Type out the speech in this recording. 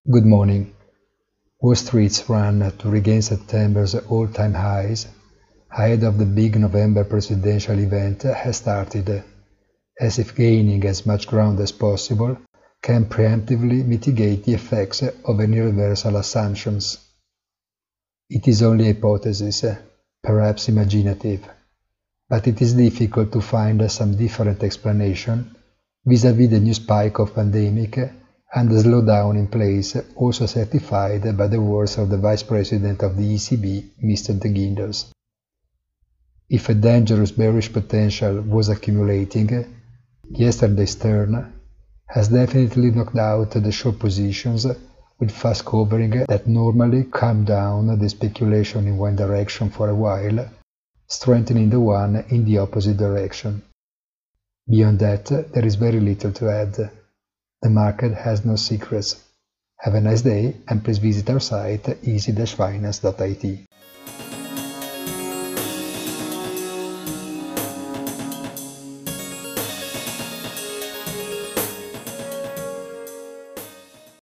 Good morning. Wall Street's run to regain September's all-time highs ahead of the big November presidential event has started, as if gaining as much ground as possible can preemptively mitigate the effects of any reversal assumptions. It is only a hypothesis, perhaps imaginative, but it is difficult to find some different explanation vis-à-vis the new spike of pandemic and the slowdown in place, also certified by the words of the Vice President of the ECB, Mr. De Guinders. If a dangerous bearish potential was accumulating, yesterday's turn has definitely knocked out the short positions with fast covering that normally calm down the speculation in one direction for a while, strengthening the one in the opposite direction. Beyond that, there is very little to add. The market has no secrets. Have a nice day and please visit our site easy-finance.it.